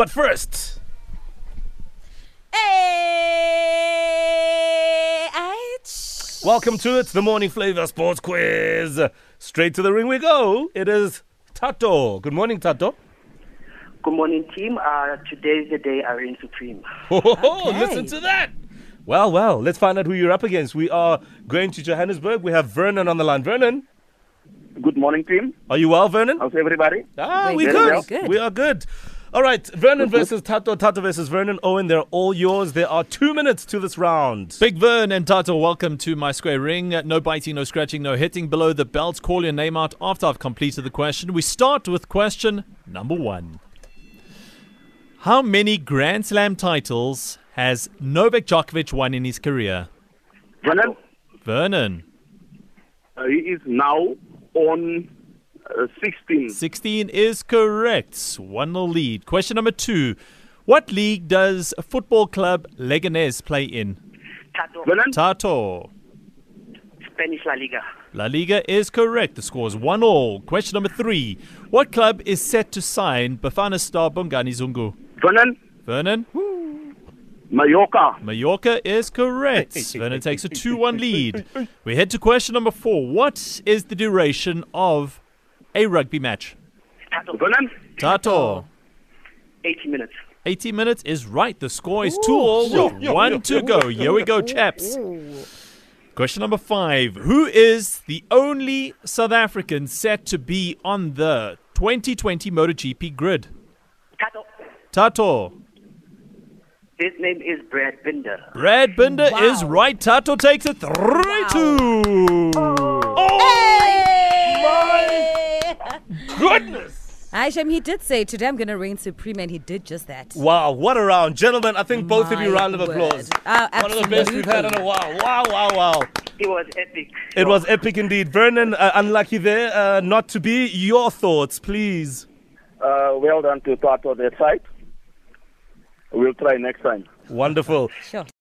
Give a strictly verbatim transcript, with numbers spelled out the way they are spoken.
But first, Hey, I- welcome to it, the Morning Flavor Sports Quiz. Straight to the ring we go. It is Tato. Good morning, Tato. Good morning, team. Uh, today is the day I reign supreme. Oh, Okay. listen to that. Well, well, let's find out who you're up against. We are going to Johannesburg. We have Vernon on the line. Vernon, Good morning, team. are you well, Vernon? How's everybody? Ah, Very we good, good. very good. We are good. All right, Vernon versus Tato, Tato versus Vernon. Owen, they're all yours. There are two minutes to this round. Big Vern and Tato, welcome to my square ring. Uh, No biting, no scratching, no hitting below the belt. Call your name out after I've completed the question. We start with question number one. How many Grand Slam titles has Novak Djokovic won in his career? Vernon, Vernon, uh, he is now on uh, sixteen. sixteen is correct. one nil lead. Question number two. What league does football club Leganés play in? Tato, Vernon, Tato. Spanish La Liga. La Liga is correct. The score is one all. Question number three. What club is set to sign Bafana star Bongani Zungu? Vernon, Vernon? Mallorca. Mallorca is correct. Vernon takes a two one lead. We head to question number four. What is the duration of a rugby match? Tato, Vernon, Tato. eighty minutes. eighty minutes is right. The score is two all with one to go. Here we go, chaps. Question number five. Who is the only South African set to be on the twenty twenty MotoGP grid? Tato, Tato. his name is Brad Binder. Brad Binder Wow. is right. Tato takes it three two. Hey! Goodness. Aishem, he did say today I'm going to reign supreme, and he did just that. Wow, what a round. Gentlemen, I think both of you My round of word. applause. Uh, One of the best we've had in a while. Wow, wow, wow. It was epic. It was epic indeed. Vernon, uh, unlucky there uh, not to be. Your thoughts, please. Uh, well done to Tato that side. We'll try next time. Wonderful. Sure.